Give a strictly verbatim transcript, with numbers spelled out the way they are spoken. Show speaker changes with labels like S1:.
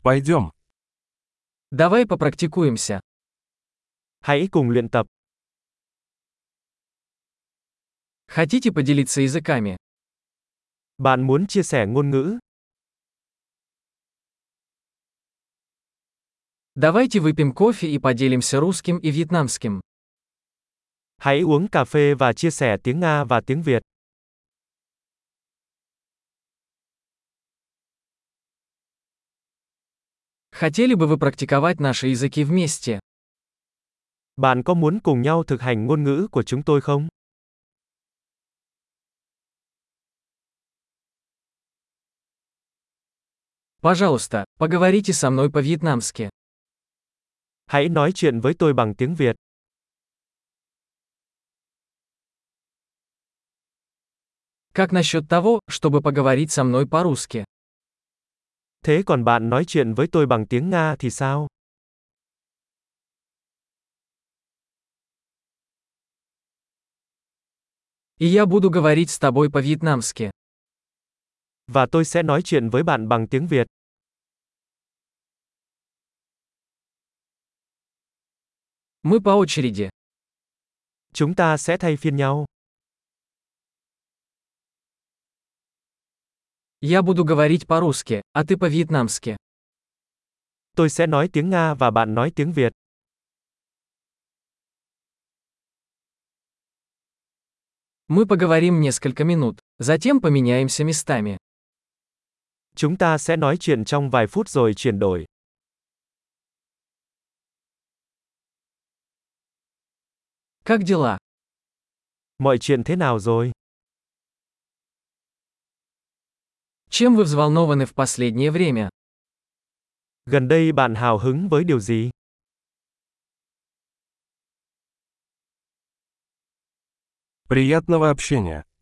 S1: Пойдем.
S2: Давай попрактикуемся.
S3: Hãy cùng luyện tập.
S2: Хотите поделиться языками?
S3: Bạn muốn chia sẻ ngôn ngữ?
S2: Давайте выпьем кофе и поделимся русским и вьетнамским.
S3: Hãy uống cà phê và chia sẻ tiếng Nga và tiếng Việt.
S2: Хотели бы вы практиковать наши языки вместе?
S3: Bạn có muốn cùng nhau thực hành ngôn ngữ của chúng tôi không?
S2: Пожалуйста, поговорите со мной по-вьетнамски.
S3: Hãy nói chuyện với tôi bằng tiếng Việt.
S2: Как насчет того, чтобы поговорить со мной по-русски?
S3: Thế còn bạn nói chuyện với tôi bằng tiếng Nga thì sao?
S2: И я буду говорить с тобой по-вьетнамски.
S3: Và tôi sẽ nói chuyện với bạn bằng tiếng Việt.
S2: Мы по очереди.
S3: Chúng ta sẽ thay phiên nhau.
S2: Я буду говорить по-русски, а ты по-вьетнамски.
S3: Tôi sẽ nói tiếng Nga và bạn nói tiếng Việt.
S2: Мы поговорим несколько минут, затем поменяемся местами.
S3: Chúng ta sẽ nói chuyện trong vài phút rồi chuyển đổi.
S2: Как дела?
S3: Mọi chuyện thế nào rồi?
S2: Чем вы взволнованы в последнее время?
S3: Gần đây bạn hào hứng với điều gì?
S1: Приятного общения.